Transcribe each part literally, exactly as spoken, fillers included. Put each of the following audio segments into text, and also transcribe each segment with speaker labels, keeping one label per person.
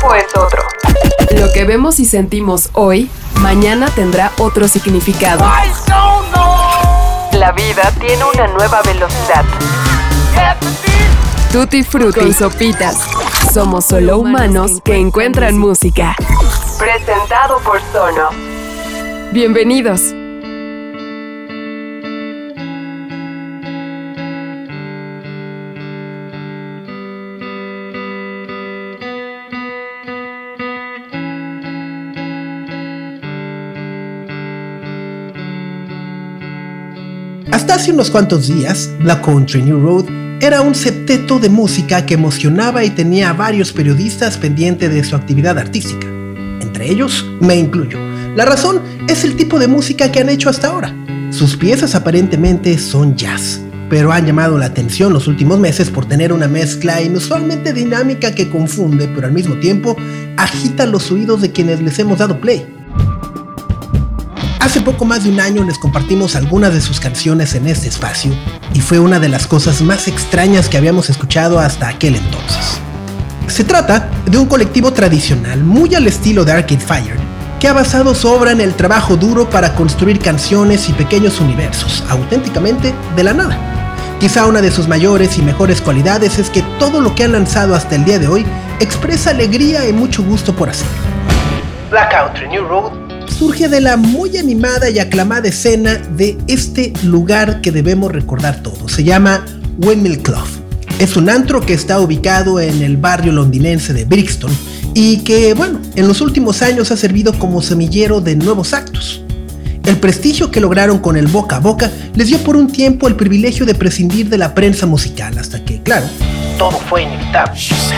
Speaker 1: tiempo es otro. Lo que vemos y sentimos hoy, mañana tendrá otro significado. La vida tiene una nueva velocidad. Tutti Frutti y Sopitas. Somos solo humanos que encuentran música. Presentado por Sono. Bienvenidos.
Speaker 2: Hasta hace unos cuantos días, Black Country New Road era un septeto de música que emocionaba y tenía a varios periodistas pendientes de su actividad artística. Entre ellos, me incluyo. La razón es el tipo de música que han hecho hasta ahora. Sus piezas aparentemente son jazz, pero han llamado la atención los últimos meses por tener una mezcla inusualmente dinámica que confunde, pero al mismo tiempo agita los oídos de quienes les hemos dado play. Hace poco más de un año les compartimos algunas de sus canciones en este espacio y fue una de las cosas más extrañas que habíamos escuchado hasta aquel entonces. Se trata de un colectivo tradicional muy al estilo de Arcade Fire que ha basado su obra en el trabajo duro para construir canciones y pequeños universos, auténticamente de la nada. Quizá una de sus mayores y mejores cualidades es que todo lo que han lanzado hasta el día de hoy expresa alegría y mucho gusto por hacerlo. Black Country New Road surge de la muy animada y aclamada escena de este lugar que debemos recordar todos. Se llama Windmill Club. Es un antro que está ubicado en el barrio londinense de Brixton y que, bueno, en los últimos años ha servido como semillero de nuevos actos. El prestigio que lograron con el boca a boca les dio por un tiempo el privilegio de prescindir de la prensa musical, hasta que, claro, todo fue inevitable.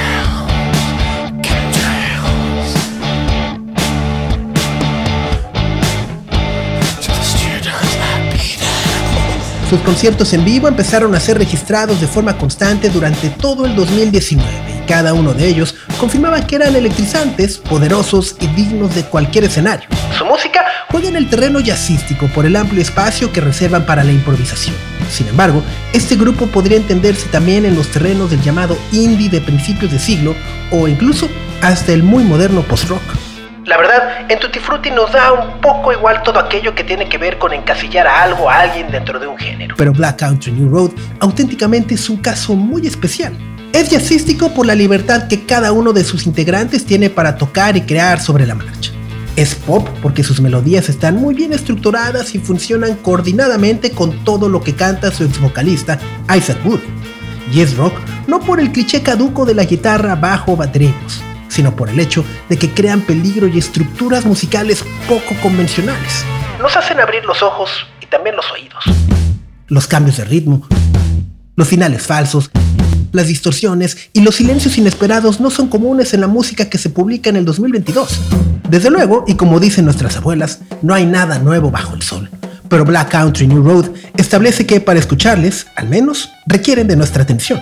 Speaker 2: Sus conciertos en vivo empezaron a ser registrados de forma constante durante todo el dos mil diecinueve y cada uno de ellos confirmaba que eran electrizantes, poderosos y dignos de cualquier escenario. Su música juega en el terreno jazzístico por el amplio espacio que reservan para la improvisación. Sin embargo, este grupo podría entenderse también en los terrenos del llamado indie de principios de siglo o incluso hasta el muy moderno post-rock. La verdad, en Tutti Frutti nos da un poco igual todo aquello que tiene que ver con encasillar a algo o a alguien dentro de un género. Pero Black Country New Road auténticamente es un caso muy especial. Es jazzístico por la libertad que cada uno de sus integrantes tiene para tocar y crear sobre la marcha. Es pop porque sus melodías están muy bien estructuradas y funcionan coordinadamente con todo lo que canta su ex vocalista Isaac Wood. Y es rock no por el cliché caduco de la guitarra, bajo o baterías, sino por el hecho de que crean peligro y estructuras musicales poco convencionales. Nos hacen abrir los ojos y también los oídos. Los cambios de ritmo, los finales falsos, las distorsiones y los silencios inesperados no son comunes en la música que se publica en el dos mil veintidós. Desde luego, y como dicen nuestras abuelas, no hay nada nuevo bajo el sol. Pero Black Country New Road establece que para escucharles, al menos, requieren de nuestra atención.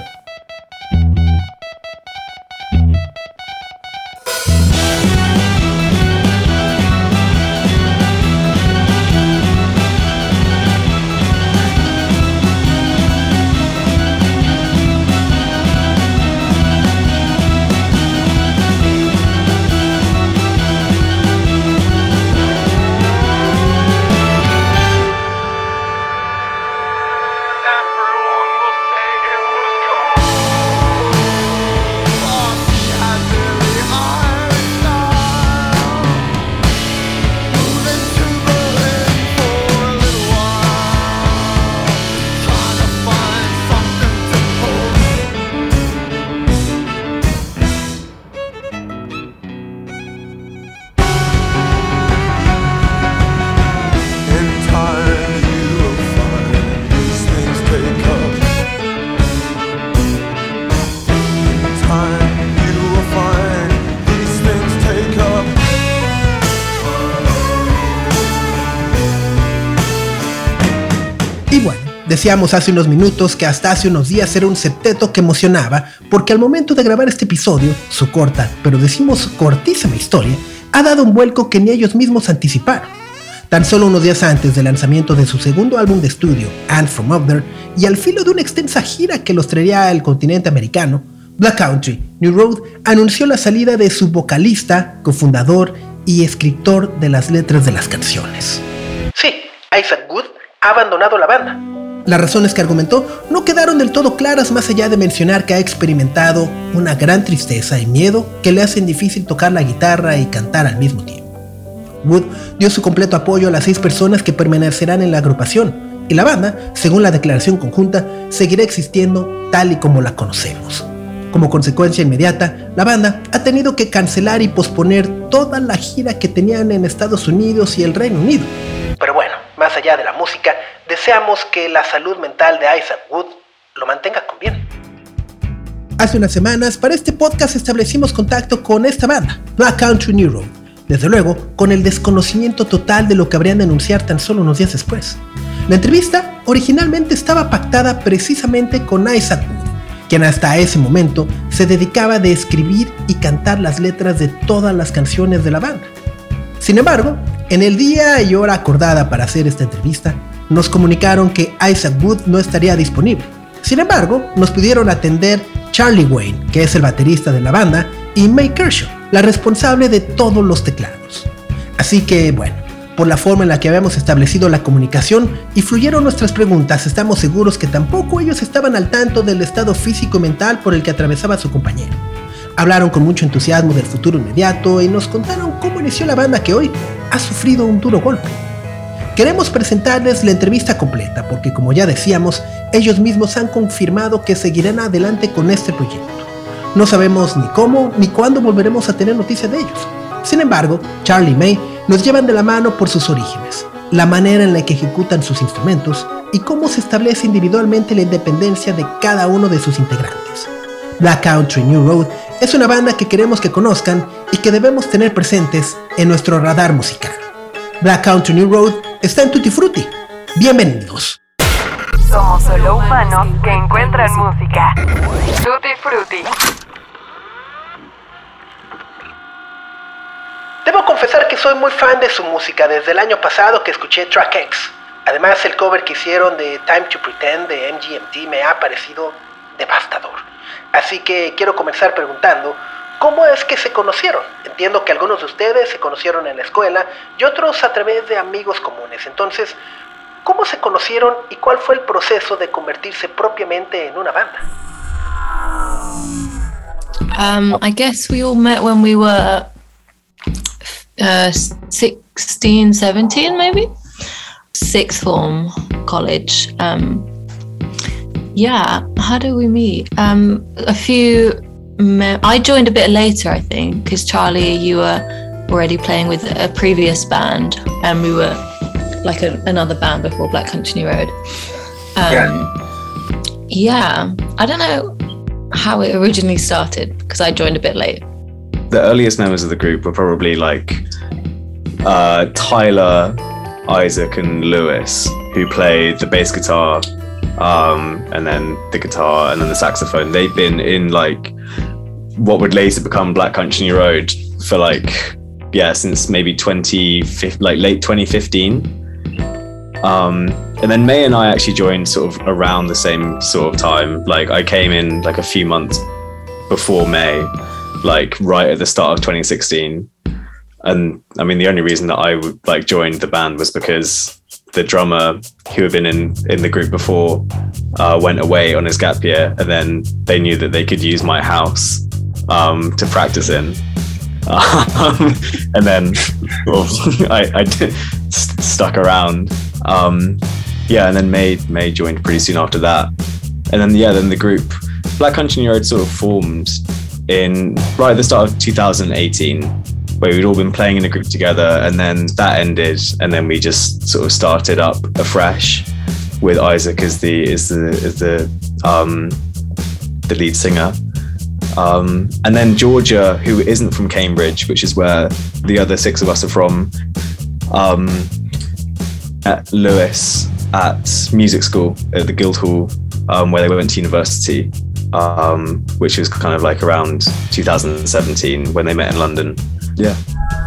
Speaker 2: Decíamos hace unos minutos que hasta hace unos días era un septeto que emocionaba porque al momento de grabar este episodio, su corta, pero decimos cortísima historia, ha dado un vuelco que ni ellos mismos anticiparon. Tan solo unos días antes del lanzamiento de su segundo álbum de estudio, And From Up There, y al filo de una extensa gira que los traería al continente americano, Black Country New Road anunció la salida de su vocalista, cofundador y escritor de las letras de las canciones. Sí, Isaac Wood ha abandonado la banda. Las razones que argumentó no quedaron del todo claras, más allá de mencionar que ha experimentado una gran tristeza y miedo que le hacen difícil tocar la guitarra y cantar al mismo tiempo. Wood dio su completo apoyo a las seis personas que permanecerán en la agrupación, y la banda, según la declaración conjunta, seguirá existiendo tal y como la conocemos. Como consecuencia inmediata, la banda ha tenido que cancelar y posponer toda la gira que tenían en Estados Unidos y el Reino Unido. Pero bueno, más allá de la música, deseamos que la salud mental de Isaac Wood lo mantenga con bien. Hace unas semanas, para este podcast establecimos contacto con esta banda, Black Country New Road. Desde luego, con el desconocimiento total de lo que habrían de anunciar tan solo unos días después. La entrevista originalmente estaba pactada precisamente con Isaac Wood, quien hasta ese momento se dedicaba a escribir y cantar las letras de todas las canciones de la banda. Sin embargo, en el día y hora acordada para hacer esta entrevista, nos comunicaron que Isaac Wood no estaría disponible. Sin embargo, nos pudieron atender Charlie Wayne, que es el baterista de la banda, y May Kershaw, la responsable de todos los teclados. Así que, bueno, por la forma en la que habíamos establecido la comunicación y fluyeron nuestras preguntas, estamos seguros que tampoco ellos estaban al tanto del estado físico y mental por el que atravesaba su compañero. Hablaron con mucho entusiasmo del futuro inmediato y nos contaron cómo inició la banda que hoy ha sufrido un duro golpe. Queremos presentarles la entrevista completa porque, como ya decíamos, ellos mismos han confirmado que seguirán adelante con este proyecto. No sabemos ni cómo ni cuándo volveremos a tener noticias de ellos. Sin embargo, Charlie y May nos llevan de la mano por sus orígenes, la manera en la que ejecutan sus instrumentos y cómo se establece individualmente la independencia de cada uno de sus integrantes. Black Country New Road es una banda que queremos que conozcan y que debemos tener presentes en nuestro radar musical. Black Country New Road está en Tutti Frutti. Bienvenidos.
Speaker 1: Somos solo humanos que encuentran música. Tutti Frutti.
Speaker 2: Debo confesar que soy muy fan de su música desde el año pasado que escuché Track X. Además, el cover que hicieron de Time to Pretend de M G M T me ha parecido devastador. Así que quiero comenzar preguntando, ¿cómo es que se conocieron? Entiendo que algunos de ustedes se conocieron en la escuela y otros a través de amigos comunes. Entonces, ¿cómo se conocieron y cuál fue el proceso de convertirse propiamente en una banda?
Speaker 3: Um, I guess we all met when we were uh, sixteen, seventeen maybe? Sixth form, college. Um, yeah, how did we meet? Um, a few, me- I joined a bit later, I think, because Charlie, you were already playing with a previous band and we were like a, another band before Black Country New Road. Um, yeah. yeah, I don't know how it originally started because I joined a bit late.
Speaker 4: The earliest members of the group were probably like uh, Tyler, Isaac and Lewis, who played the bass guitar um, and then the guitar and then the saxophone. They've been in like what would later become Black Country New Road for like, yeah, since maybe twenty like late twenty fifteen. Um, and then May and I actually joined sort of around the same sort of time. Like I came in like a few months before May, like right at the start of twenty sixteen. And I mean, the only reason that I like joined the band was because the drummer who had been in, in the group before uh, went away on his gap year, and then they knew that they could use my house um, to practice in. Um, and then well, I, I did, st- stuck around. Um, yeah, and then May May joined pretty soon after that. And then yeah, then the group Black Country New Road sort of formed in right at the start of two thousand eighteen, where we'd all been playing in a group together, and then that ended, and then we just sort of started up afresh with Isaac as the as the as the um, the lead singer. Um, and then Georgia, who isn't from Cambridge, which is where the other six of us are from, um, at Lewis at music school at the Guildhall, um, where they went to university, um, which was kind of like around two thousand seventeen when they met in London. Yeah.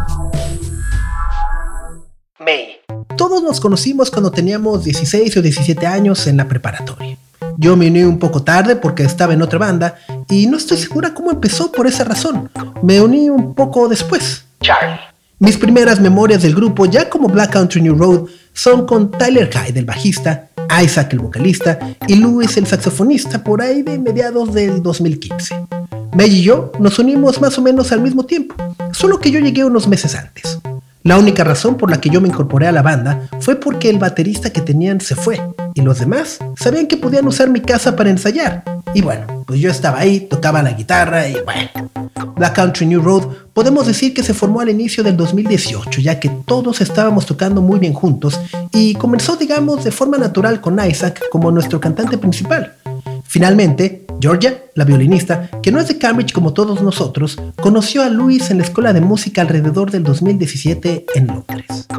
Speaker 2: May. Todos nos conocimos cuando teníamos dieciséis o diecisiete años en la preparatoria. Yo me uní un poco tarde porque estaba en otra banda y no estoy segura cómo empezó por esa razón. Me uní un poco después.
Speaker 5: Charlie.
Speaker 2: Mis primeras memorias del grupo, ya como Black Country New Road, son con Tyler Hyde, el bajista, Isaac, el vocalista, y Louis, el saxofonista, por ahí de mediados del dos mil quince. May y yo nos unimos más o menos al mismo tiempo, solo que yo llegué unos meses antes. La única razón por la que yo me incorporé a la banda fue porque el baterista que tenían se fue, y los demás sabían que podían usar mi casa para ensayar. Y bueno, pues yo estaba ahí, tocaba la guitarra y bueno. Black Country New Road podemos decir que se formó al inicio del dos mil dieciocho, ya que todos estábamos tocando muy bien juntos y comenzó, digamos, de forma natural con Isaac como nuestro cantante principal. Finalmente, Georgia, la violinista, que no es de Cambridge como todos nosotros, conoció a Louis en la escuela de música alrededor del dos mil diecisiete en Londres.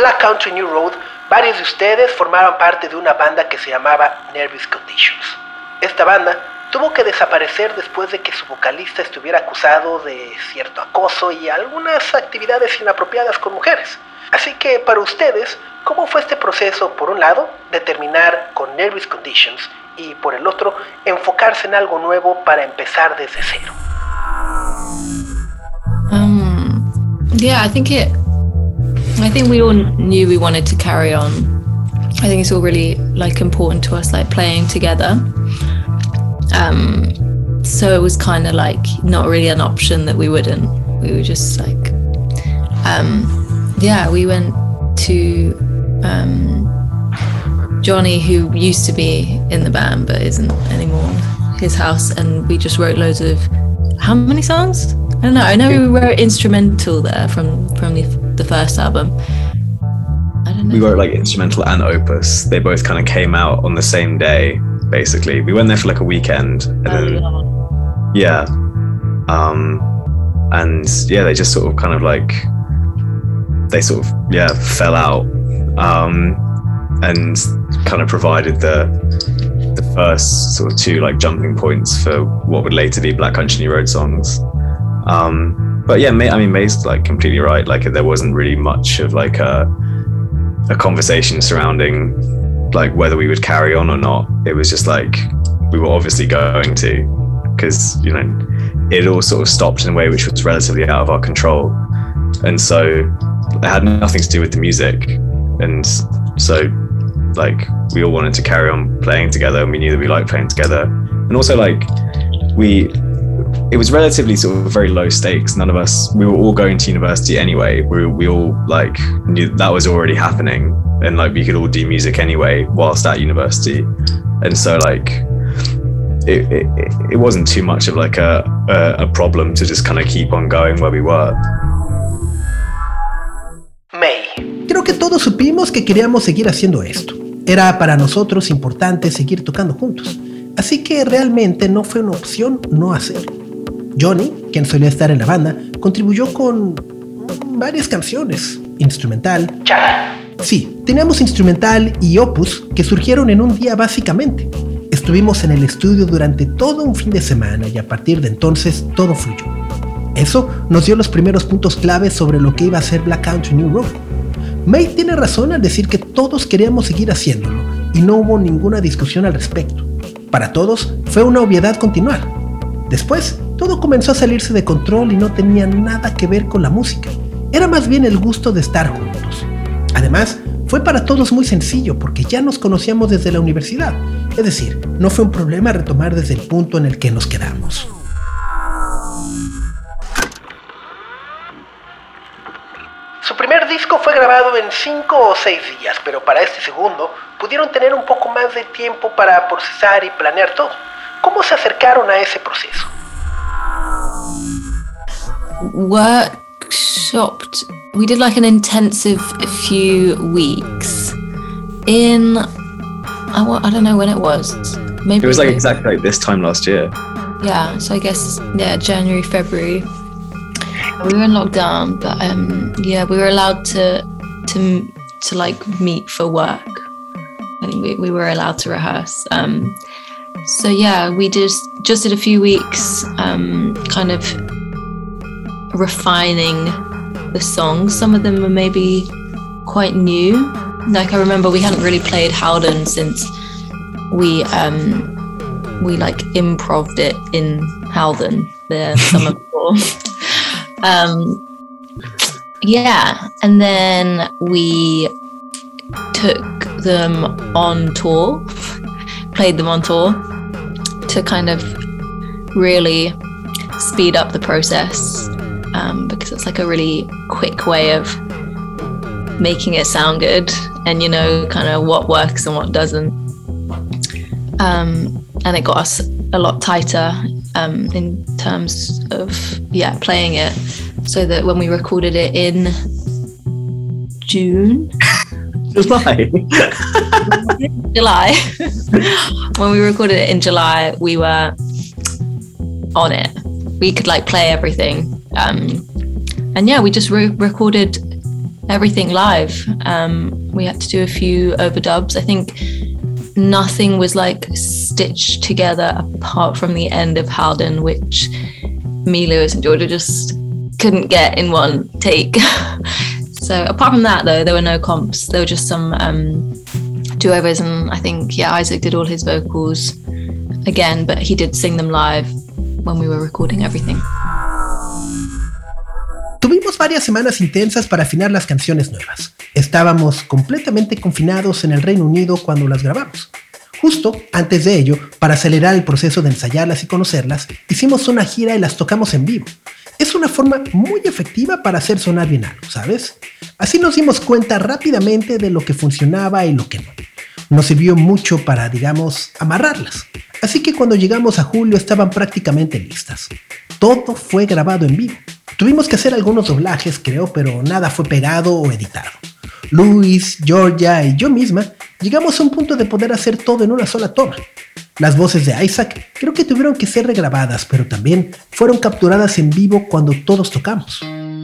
Speaker 2: Black Country New Road, varios de ustedes formaban parte de una banda que se llamaba Nervous Conditions. Esta banda tuvo que desaparecer después de que su vocalista estuviera acusado de cierto acoso y algunas actividades inapropiadas con mujeres. Así que para ustedes, ¿cómo fue este proceso, por un lado, de terminar con Nervous Conditions y por el otro, enfocarse en algo nuevo para empezar desde cero?
Speaker 3: Um, yeah, I think it. I think we all knew we wanted to carry on. I think it's all really like important to us, like playing together. Um, so it was kind of like not really an option that we wouldn't. We were just like, um, yeah, we went to um, Johnny, who used to be in the band but isn't anymore, his house, and we just wrote loads of, how many songs? I don't know. I know we wrote instrumental there from from the, the first album. I don't know.
Speaker 4: We wrote like instrumental and opus. They both kind of came out on the same day, basically. We went there for like a weekend, and
Speaker 3: Oh,
Speaker 4: then
Speaker 3: yeah.
Speaker 4: yeah, um, and yeah, they just sort of kind of like they sort of yeah fell out, um, and kind of provided the the first sort of two like jumping points for what would later be Black Country New Road songs. Um, but yeah, May, I mean, May's like completely right. Like there wasn't really much of like a, a conversation surrounding like whether we would carry on or not. It was just like, we were obviously going to, because, you know, it all sort of stopped in a way which was relatively out of our control. And so it had nothing to do with the music. And so like, we all wanted to carry on playing together, and we knew that we liked playing together. And also like, we, it was relatively sort of very low stakes. None of us, we were all going to university anyway. We we all like knew that was already happening, and like we could all do music anyway whilst at university. And so like it it, it wasn't too much of like a, a a problem to just kind of keep on going where we were.
Speaker 2: May. Creo que todos supimos que queríamos seguir haciendo esto. Era para nosotros importante seguir tocando juntos. Así que realmente no fue una opción no hacerlo. Johnny, quien solía estar en la banda, contribuyó con varias canciones, instrumental. Sí, teníamos instrumental y opus que surgieron en un día básicamente. Estuvimos en el estudio durante todo un fin de semana y a partir de entonces todo fluyó. Eso nos dio los primeros puntos claves sobre lo que iba a ser Black Country New Road. May tiene razón al decir que todos queríamos seguir haciéndolo y no hubo ninguna discusión al respecto. Para todos fue una obviedad continuar. Después, todo comenzó a salirse de control y no tenía nada que ver con la música. Era más bien el gusto de estar juntos. Además, fue para todos muy sencillo porque ya nos conocíamos desde la universidad. Es decir, no fue un problema retomar desde el punto en el que nos quedamos. Su primer disco fue grabado en cinco o seis días, pero para este segundo pudieron tener un poco más de tiempo para procesar y planear todo. ¿Cómo se acercaron a ese proceso?
Speaker 3: Workshopped. We did like an intensive few weeks in, I, I don't know when it was. Maybe
Speaker 4: It was like exactly like this time last year.
Speaker 3: Yeah, so I guess yeah, January, February. We were in lockdown, but um, yeah, we were allowed to to to like meet for work. I think we, we were allowed to rehearse. Um, so yeah, we just just did a few weeks, um, kind of refining the songs. Some of them were maybe quite new. Like I remember we hadn't really played Howden since we um, we like improv'd it in Howden the summer before. Um, yeah, and then we took them on tour, played them on tour to kind of really speed up the process, um, because it's like a really quick way of making it sound good and, you know, kind of what works and what doesn't. Um, and it got us a lot tighter um, in terms of, yeah, playing it, so that when we recorded it in June,
Speaker 4: July,
Speaker 3: July, when we recorded it in July, we were on it. We could like play everything, um, and yeah, we just re- recorded everything live. Um, we had to do a few overdubs. I think nothing was like stitched together apart from the end of Howden, which me, Lewis, and Georgia just couldn't get in one take. So apart from that, though, there were no comps. There were just some um, do-overs, and I think, yeah, Isaac did all his vocals again, but he did sing them live when we were recording everything.
Speaker 2: Tuvimos varias semanas intensas para afinar las canciones nuevas. Estábamos completamente confinados en el Reino Unido cuando las grabamos. Justo antes de ello, para acelerar el proceso de ensayarlas y conocerlas, hicimos una gira y las tocamos en vivo. Es una forma muy efectiva para hacer sonar bien algo, ¿sabes? Así nos dimos cuenta rápidamente de lo que funcionaba y lo que no. Nos sirvió mucho para, digamos, amarrarlas. Así que cuando llegamos a julio estaban prácticamente listas. Todo fue grabado en vivo. Tuvimos que hacer algunos doblajes, creo, pero nada fue pegado o editado. Luis, Georgia y yo misma llegamos a un punto de poder hacer todo en una sola toma. Las voces de Isaac creo que tuvieron que ser regrabadas, pero también fueron capturadas en vivo cuando todos tocamos.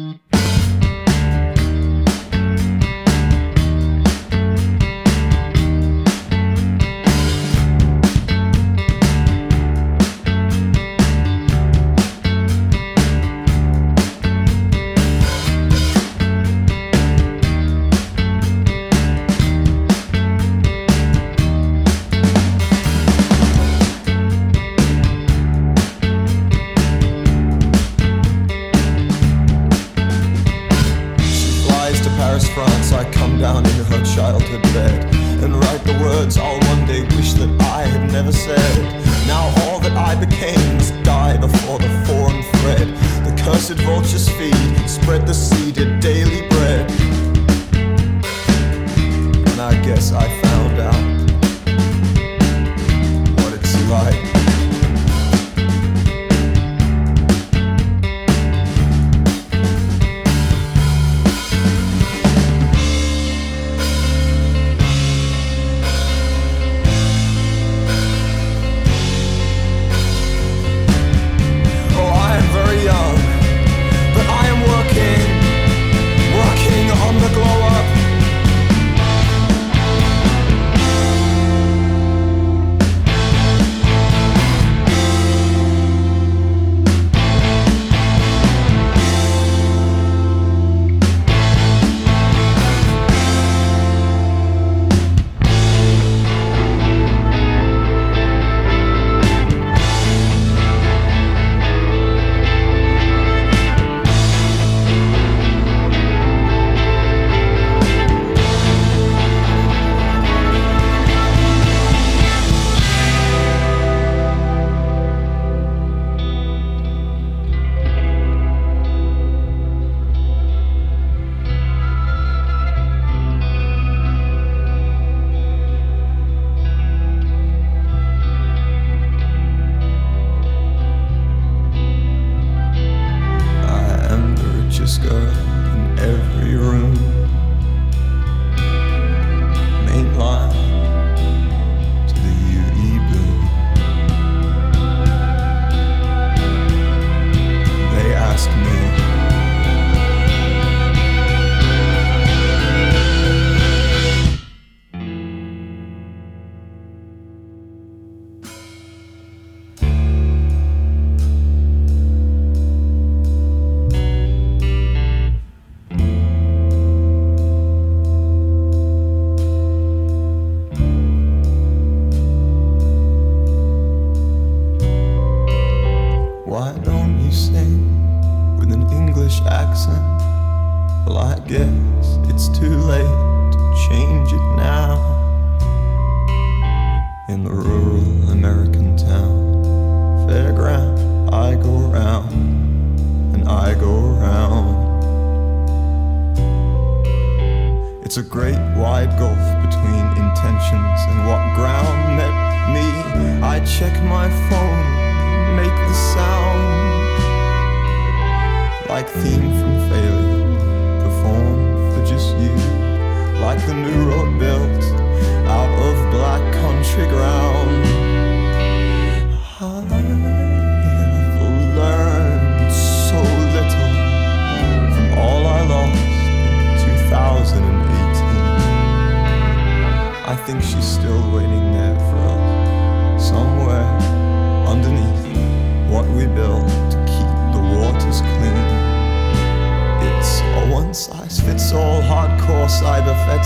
Speaker 5: It's a great wide gulf between intentions and what ground met me. I check my phone, make the sound like theme from failure, performed for just you, like the new road built out of black country ground. I have learned so little from all I lost in two thousand.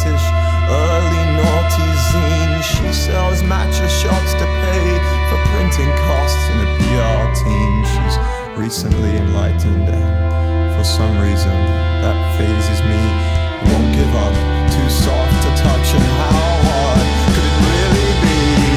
Speaker 5: brutish, early naughty zine. She sells matcha shots to pay for printing costs in a P R team. She's recently enlightened, and for some reason that phases me. You won't give up, too soft to touch, and how hard could it really be?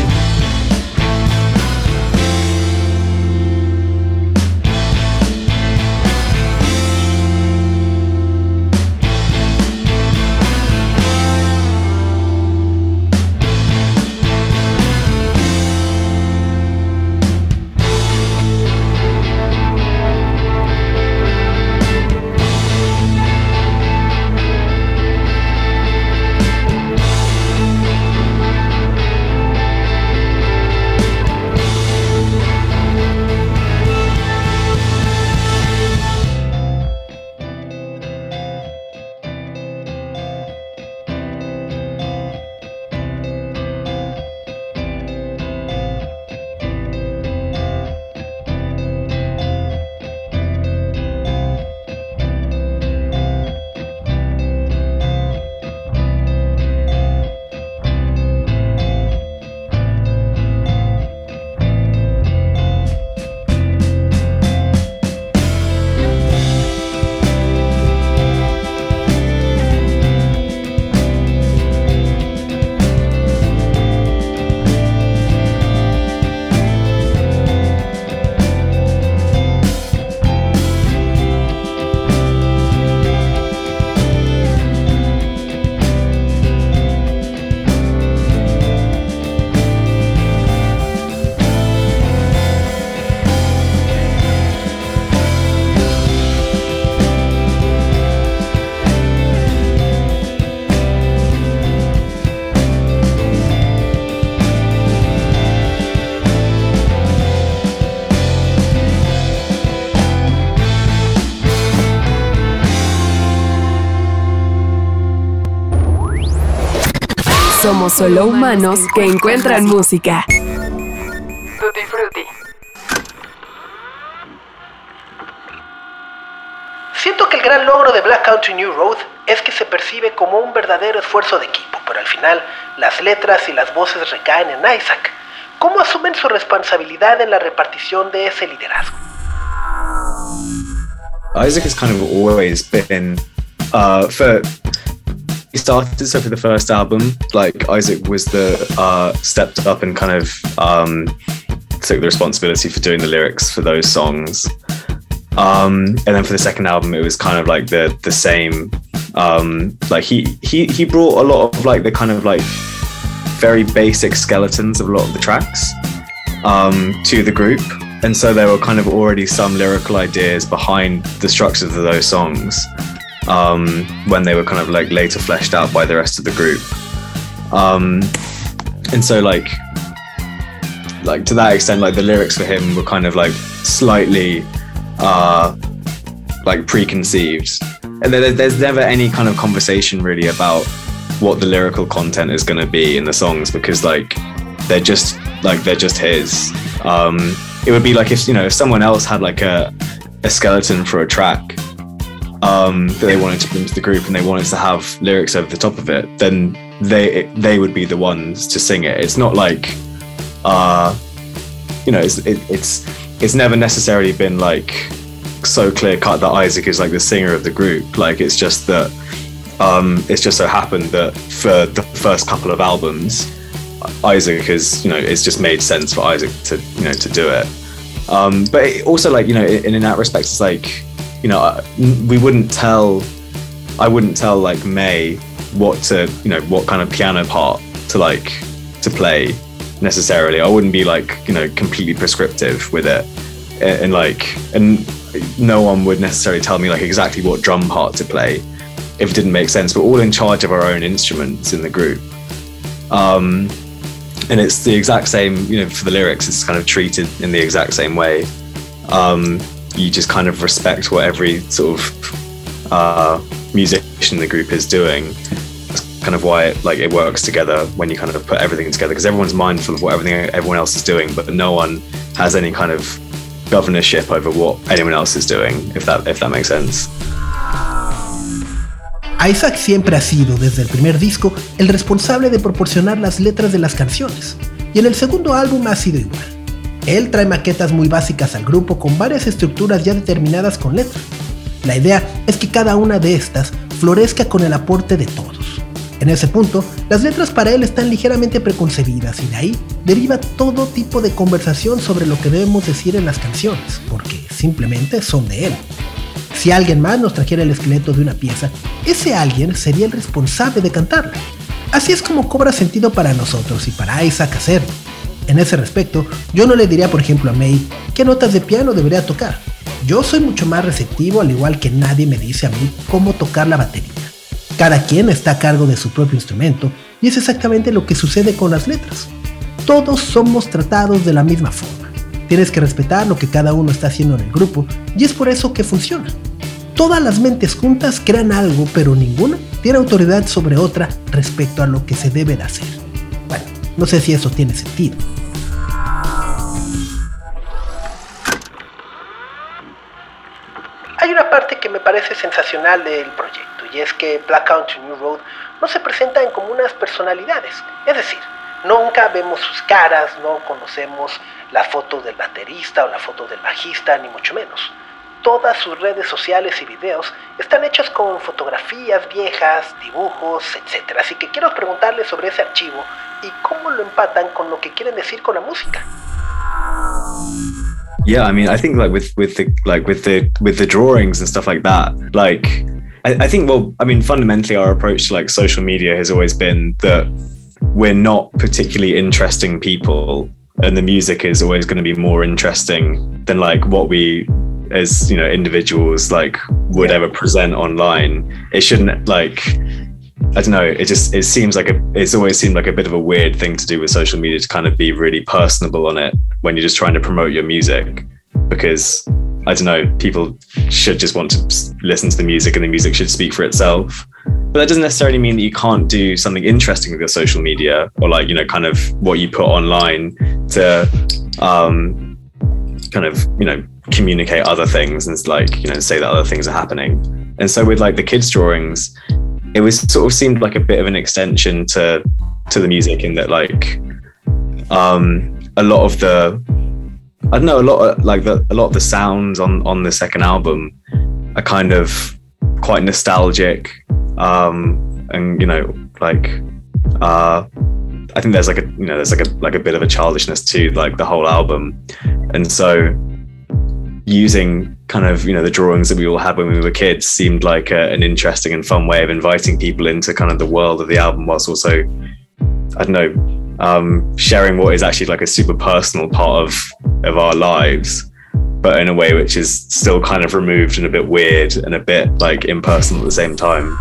Speaker 1: Somos solo humanos que encuentran música. Tutti Frutti.
Speaker 2: Siento que el gran logro de Black Country New Road es que se percibe como un verdadero esfuerzo de equipo, pero al final las letras y las voces recaen en Isaac. ¿Cómo asumen su responsabilidad en la repartición de ese liderazgo?
Speaker 4: Isaac has kind of always been, uh, for he started so for the first album, like Isaac was the uh, stepped up and kind of um, took the responsibility for doing the lyrics for those songs. Um, and then for the second album, it was kind of like the the same. Um, like he he he brought a lot of like the kind of like very basic skeletons of a lot of the tracks um, to the group, and so there were kind of already some lyrical ideas behind the structures of those songs um, when they were kind of like later fleshed out by the rest of the group. Um, and so like like to that extent, like the lyrics for him were kind of like slightly uh, like preconceived, and there, there's never any kind of conversation really about what the lyrical content is going to be in the songs, because like they're just like they're just his. Um, it would be like if, you know, if someone else had like a a skeleton for a track um, that they wanted to bring to the group and they wanted to have lyrics over the top of it, then they they would be the ones to sing it. It's not like uh, you know, it's it, it's it's never necessarily been like so clear cut that Isaac is like the singer of the group. Like it's just that. Um, it's just so happened that for the first couple of albums, Isaac has, you know, it's just made sense for Isaac to, you know, to do it. Um, but it also, like, you know, in, in that respect, it's like, you know, we wouldn't tell, I wouldn't tell like May what to, you know, what kind of piano part to like to play necessarily. I wouldn't be like, you know, completely prescriptive with it, and, and like, and no one would necessarily tell me like exactly what drum part to play if it didn't make sense. We're all in charge of our own instruments in the group. Um, and it's the exact same, you know, for the lyrics, it's kind of treated in the exact same way. Um, you just kind of respect what every sort of uh, musician in the group is doing. That's kind of why it, like, it works together when you kind of put everything together, because everyone's mindful of what everything everyone else is doing, but no one has any kind of governorship over what anyone else is doing, if that if that makes sense.
Speaker 2: Isaac siempre ha sido, desde el primer disco, el responsable de proporcionar las letras de las canciones, y en el segundo álbum ha sido igual. Él trae maquetas muy básicas al grupo con varias estructuras ya determinadas con letras. La idea es que cada una de estas florezca con el aporte de todos. En ese punto, las letras para él están ligeramente preconcebidas y de ahí deriva todo tipo de conversación sobre lo que debemos decir en las canciones, porque simplemente son de él. Si alguien más nos trajera el esqueleto de una pieza, ese alguien sería el responsable de cantarla. Así es como cobra sentido para nosotros y para Isaac hacerlo. En ese respecto, yo no le diría por ejemplo a May qué notas de piano debería tocar. Yo soy mucho más receptivo, al igual que nadie me dice a mí cómo tocar la batería. Cada quien está a cargo de su propio instrumento y es exactamente lo que sucede con las letras. Todos somos tratados de la misma forma. Tienes que respetar lo que cada uno está haciendo en el grupo y es por eso que funciona. Todas las mentes juntas crean algo, pero ninguna tiene autoridad sobre otra respecto a lo que se debe de hacer. Bueno, no sé si eso tiene sentido. Hay una parte que me parece sensacional del proyecto, y es que Black Country New Road no se presentan como unas personalidades. Es decir, nunca vemos sus caras, no conocemos la foto del baterista o la foto del bajista, ni mucho menos. Todas sus redes sociales y videos están hechos con fotografías viejas, dibujos, etcétera. Así que quiero preguntarles sobre ese archivo y cómo lo empatan con lo que quieren decir con la música.
Speaker 4: Yeah, I mean, I think like with with the like with the with the drawings and stuff like that, like I, I think well, I mean, fundamentally our approach to like social media has always been that we're not particularly interesting people, and the music is always going to be more interesting than like what we as, you know, individuals like would ever present online. It shouldn't like, I don't know, it just, it seems like a, it's always seemed like a bit of a weird thing to do with social media, to kind of be really personable on it when you're just trying to promote your music, because I don't know, people should just want to listen to the music and the music should speak for itself. But that doesn't necessarily mean that you can't do something interesting with your social media, or like, you know, kind of what you put online to um kind of, you know, communicate other things and like, you know, say that other things are happening. And so with like the kids drawings, it was sort of seemed like a bit of an extension to to the music, in that like um a lot of the I don't know a lot of like the a lot of the sounds on on the second album are kind of quite nostalgic, um and you know, like uh I think there's like a, you know, there's like a like a bit of a childishness to like the whole album. And so using kind of, you know, the drawings that we all had when we were kids seemed like a, an interesting and fun way of inviting people into kind of the world of the album, whilst also, I don't know, um, sharing what is actually like a super personal part of, of our lives, but in a way which is still kind of removed and a bit weird and a bit like impersonal at the same time.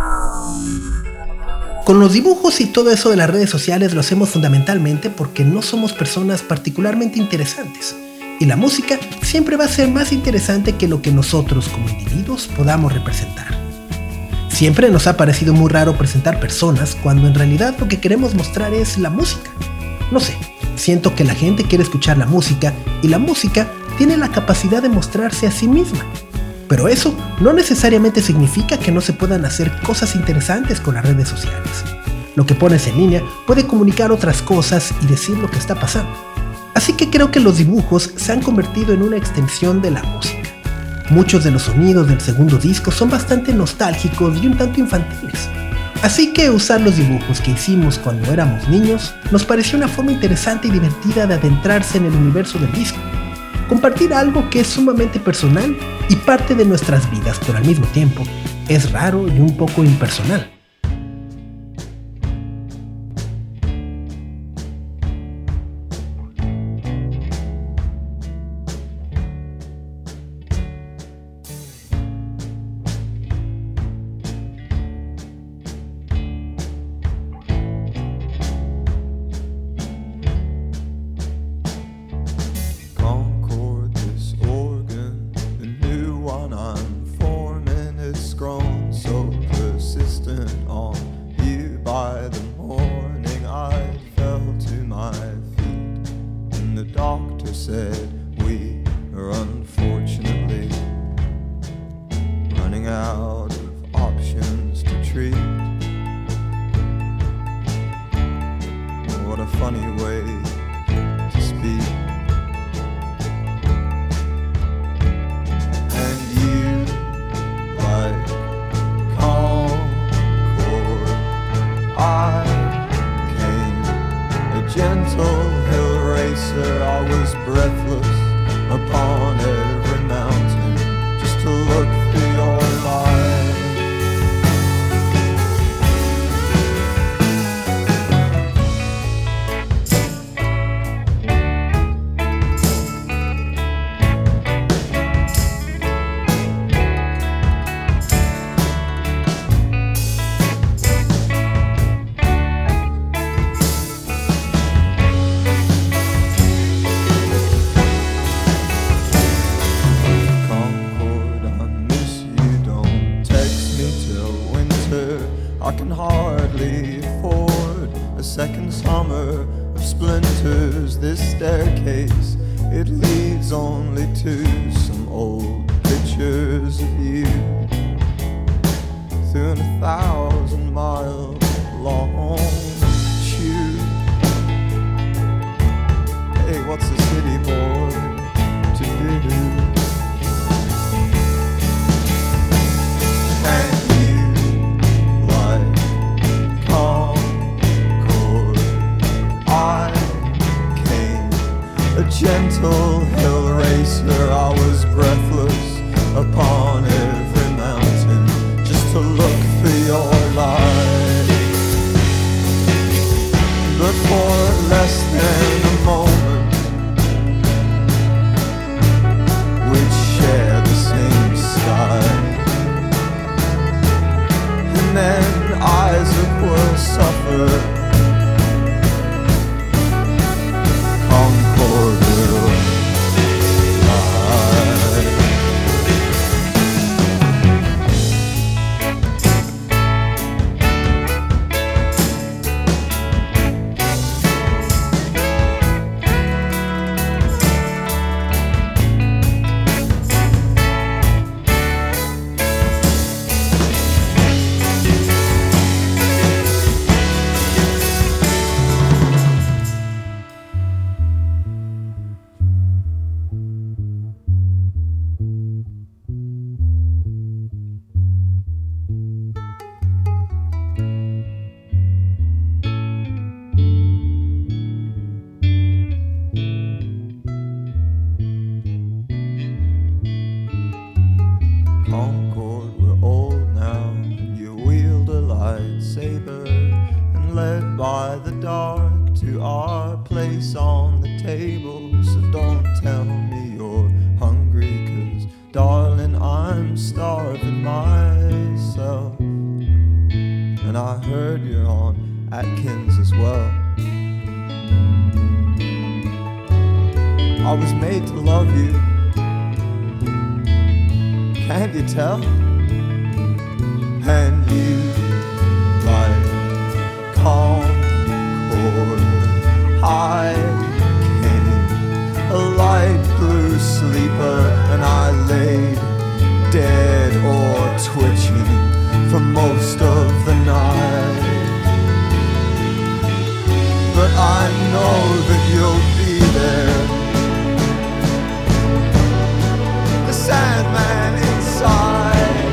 Speaker 2: Con los dibujos y todo eso de las redes sociales lo hacemos fundamentalmente porque no somos personas particularmente interesantes. Y la música siempre va a ser más interesante que lo que nosotros como individuos podamos representar. Siempre nos ha parecido muy raro presentar personas cuando en realidad lo que queremos mostrar es la música. No sé, siento que la gente quiere escuchar la música y la música tiene la capacidad de mostrarse a sí misma. Pero eso no necesariamente significa que no se puedan hacer cosas interesantes con las redes sociales. Lo que pones en línea puede comunicar otras cosas y decir lo que está pasando. Así que creo que los dibujos se han convertido en una extensión de la música. Muchos de los sonidos del segundo disco son bastante nostálgicos y un tanto infantiles. Así que usar los dibujos que hicimos cuando éramos niños nos pareció una forma interesante y divertida de adentrarse en el universo del disco. Compartir algo que es sumamente personal y parte de nuestras vidas, pero al mismo tiempo es raro y un poco impersonal.
Speaker 5: Out of options to funny way to speak. And you, like Concord, I came, a gentle hill racer. I was breathless upon every mountain, just to look through your life. I can hardly afford a second summer of splinters. This staircase, it leads only to some old pictures of you through a thousand mile long tube. Hey, what's a city boy to do? And a gentle hill racer, I was breathless upon every mountain, just to look for your light. But for less than a moment, we'd share the same sky. And then Isaac will suffer. Concord will lie. Concord, we're old now, and you wield a lightsaber, and led by the dark to our place on the table. So don't tell me you're hungry, 'cause darling, I'm starving myself. And I heard you're on Atkins as well. I was made to love you. Can't you tell? And you, like Concord, I came, a light blue sleeper, and I laid dead or twitching for most of the night. But I know that you'll be there, the Sandman inside,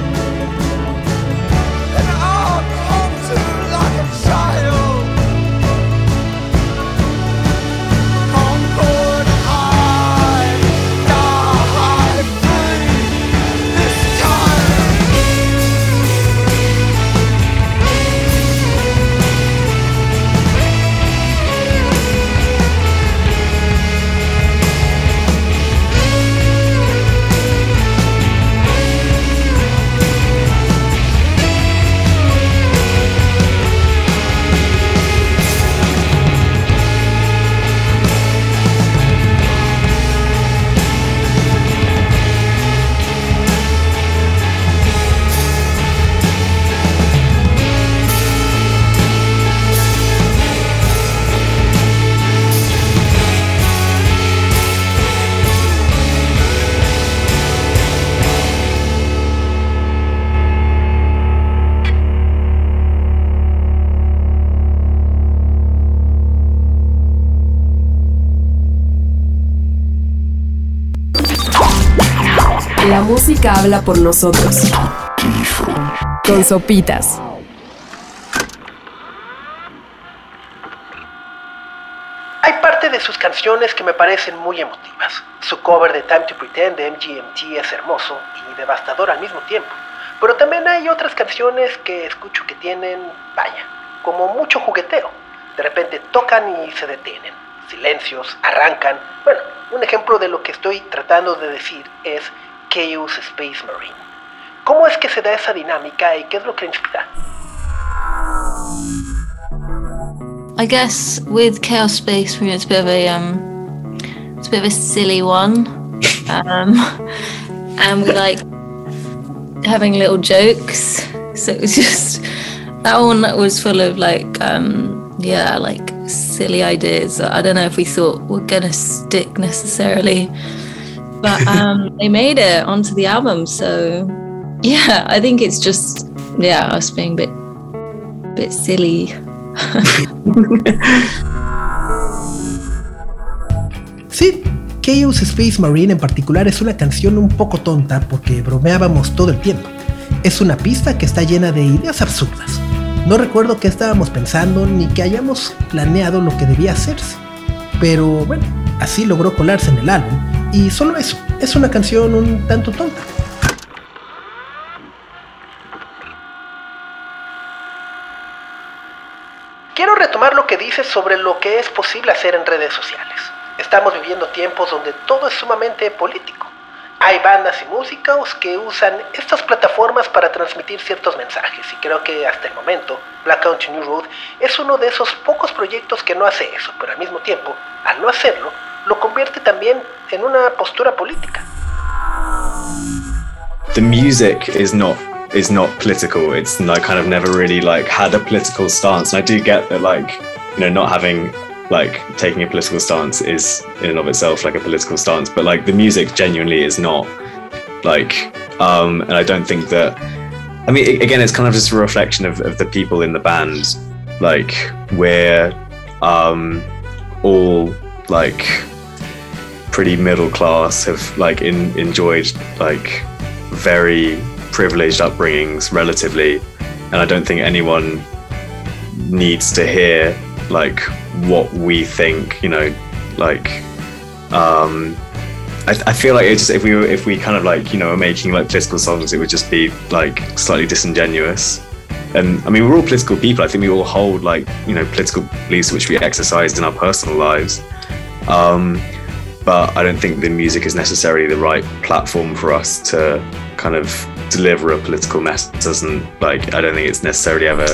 Speaker 5: and I'll come to like a child. Concord, I die free this time.
Speaker 1: La música habla por nosotros. Con Sopitas.
Speaker 2: Hay parte de sus canciones que me parecen muy emotivas. Su cover de Time to Pretend de M G M T es hermoso y devastador al mismo tiempo. Pero también hay otras canciones que escucho que tienen, vaya, como mucho jugueteo. De repente tocan y se detienen. Silencios, arrancan. Bueno, un ejemplo de lo que estoy tratando de decir es Chaos Space Marine. ¿Cómo es que se da esa dinámica y qué es lo que inspira?
Speaker 3: I guess with Chaos Space Marine, it's a bit of a um, it's a bit of a silly one, um, and we like having little jokes. So it was just that one that was full of like um, yeah, like silly ideas that I don't know if we thought were gonna stick necessarily, but um, they made it onto the album. So yeah, I think it's just yeah, us being a bit bit silly.
Speaker 2: Sí, Chaos Space Marine en particular es una canción un poco tonta porque bromeábamos todo el tiempo. Es una pista que está llena de ideas absurdas. No recuerdo qué estábamos pensando ni que hayamos planeado lo que debía hacerse. Pero bueno, así logró colarse en el álbum y solo eso, es una canción un tanto tonta. Quiero retomar lo que dices sobre lo que es posible hacer en redes sociales. Estamos viviendo tiempos donde todo es sumamente político. Hay bandas y músicos que usan estas plataformas para transmitir ciertos mensajes y creo que hasta el momento Black Country New Road es uno de esos pocos proyectos que no hace eso, pero al mismo tiempo, al no hacerlo, lo convierte también en una postura política.
Speaker 4: The music is not is not political. It's like kind of never really like had a political stance. And I do get that, like, you know, not having like taking a political stance is in and of itself like a political stance, but like the music genuinely is not like um and I don't think that I mean again it's kind of just a reflection of, of the people in the band. Like we're um all like pretty middle class, have like in, enjoyed like very privileged upbringings relatively, and I don't think anyone needs to hear like what we think, you know, like um I, I feel like it just if we were if we kind of like, you know, were making like political songs, it would just be like slightly disingenuous. And I mean, we're all political people. I think we all hold like, you know, political beliefs which we exercised in our personal lives, um but I don't think the music is necessarily the right platform for us to kind of deliver a political message. It doesn't like I don't think it's necessarily ever.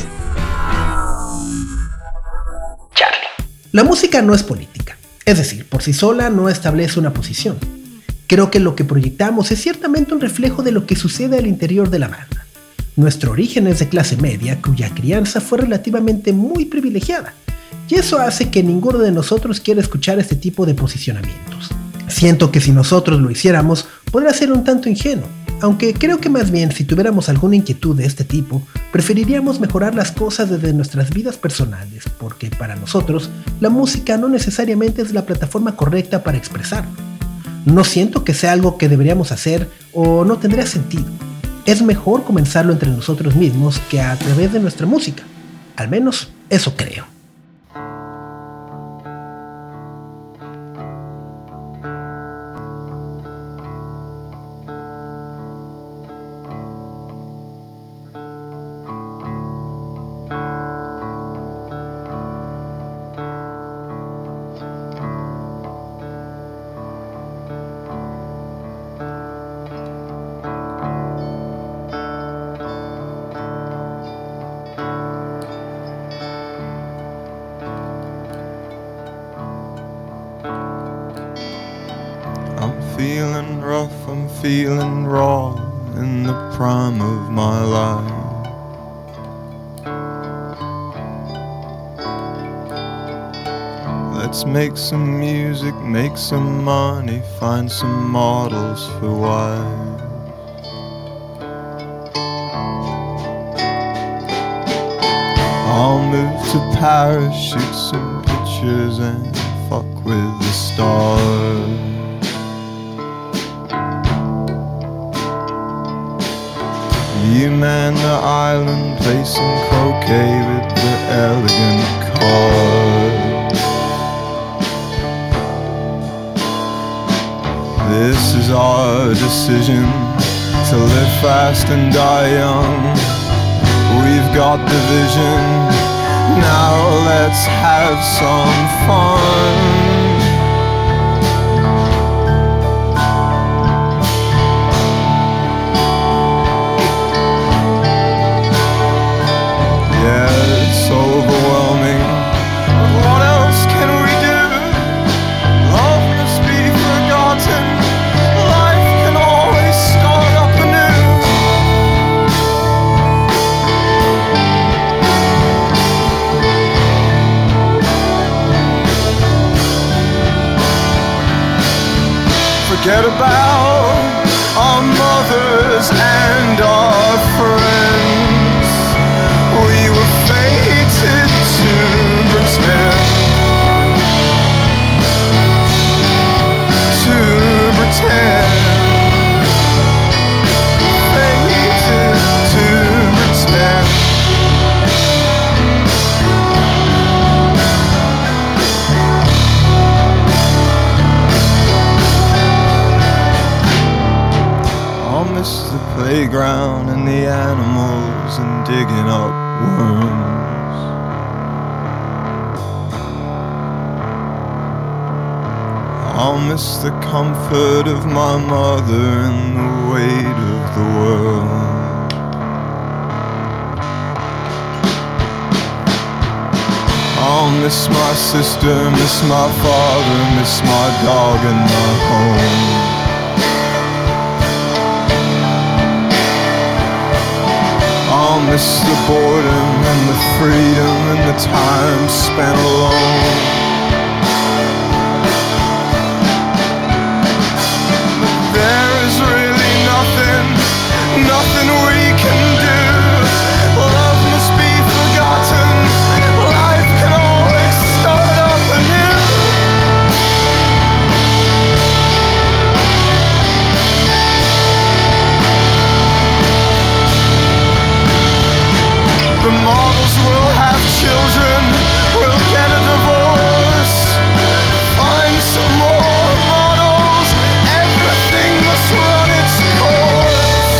Speaker 2: La música no es política, es decir, por sí sola no establece una posición. Creo que lo que proyectamos es ciertamente un reflejo de lo que sucede al interior de la banda. Nuestro origen es de clase media, cuya crianza fue relativamente muy privilegiada, y eso hace que ninguno de nosotros quiera escuchar este tipo de posicionamientos. Siento que si nosotros lo hiciéramos, podría ser un tanto ingenuo, aunque creo que más bien si tuviéramos alguna inquietud de este tipo, preferiríamos mejorar las cosas desde nuestras vidas personales, porque para nosotros la música no necesariamente es la plataforma correcta para expresarlo. No siento que sea algo que deberíamos hacer o no tendría sentido. Es mejor comenzarlo entre nosotros mismos que a través de nuestra música. Al menos eso creo.
Speaker 5: Feeling rough, I'm feeling raw in the prime of my life. Let's make some music, make some money, find some models for wives. I'll move to Paris, shoot some pictures and fuck with the stars. you man the island, placing croquet with the elegant cards. This is our decision, to live fast and die young. We've got the vision, now let's have some fun. It's overwhelming, but what else can we do? Love must be forgotten, life can always start up anew. Forget about our mothers and our friends. We were fated to pretend, to pretend, fated to pretend. I'll miss the playground and the animals and digging up worms. I'll miss the comfort of my mother and the weight of the world. I'll miss my sister, miss my father, miss my dog and my home. I'll miss the boredom and the freedom and the time spent alone. But there is really nothing, nothing we can do. Love must be forgotten, life can always start up anew. The models will have children, we'll get a divorce. Find some more models, everything must run its course.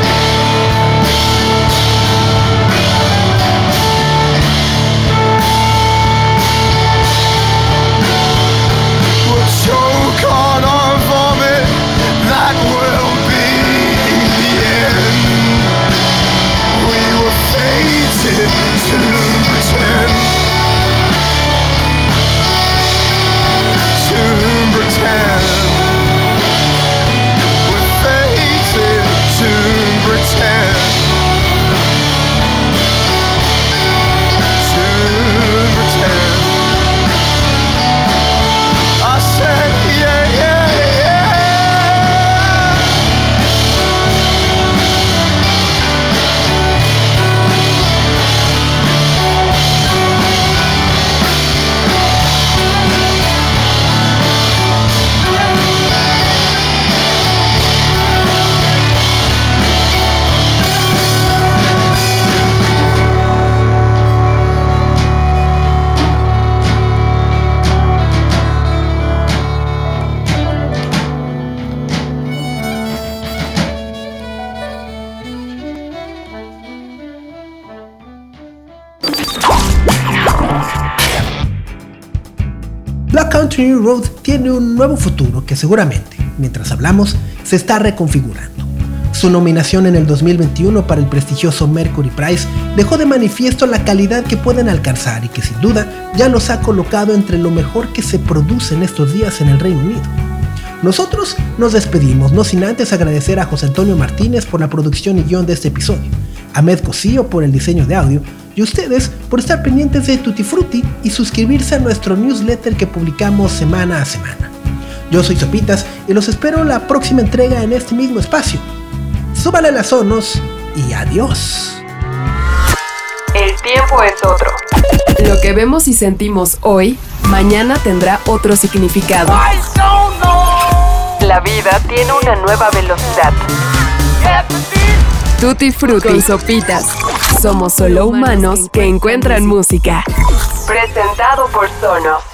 Speaker 5: We'll choke on our vomit, that will be the end. We were fated to pretend, to pretend. We're fated to pretend, to pretend. I said yeah, yeah, yeah.
Speaker 2: Black Country New Road tiene un nuevo futuro que seguramente, mientras hablamos, se está reconfigurando. Su nominación en el dos mil veintiuno para el prestigioso Mercury Prize dejó de manifiesto la calidad que pueden alcanzar y que sin duda ya los ha colocado entre lo mejor que se produce en estos días en el Reino Unido. Nosotros nos despedimos, no sin antes agradecer a José Antonio Martínez por la producción y guión de este episodio, a Ahmed Cosío por el diseño de audio y ustedes por estar pendientes de Tutti Frutti y suscribirse a nuestro newsletter que publicamos semana a semana. Yo soy Sopitas y los espero la próxima entrega en este mismo espacio. Súbale las sonos y adiós.
Speaker 1: El tiempo es otro. Lo que vemos y sentimos hoy, mañana tendrá otro significado. La vida tiene una nueva velocidad. Tutti Frutti con Sopitas. Somos solo humanos que encuentran música. Presentado por Sonos.